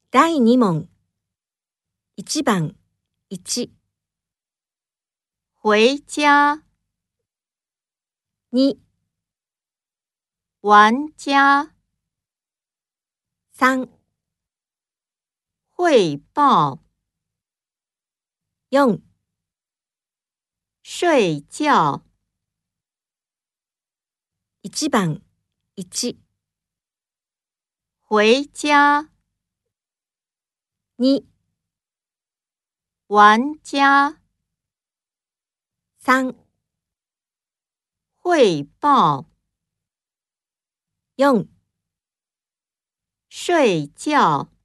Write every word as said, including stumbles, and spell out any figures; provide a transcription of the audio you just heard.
だいに問。いち番いち。 回家。 に、 玩家。 さん、 汇报。 よん、 睡觉。 いち番いち。 回家。 に、 玩家。 さん、 汇报。 よん、 睡觉。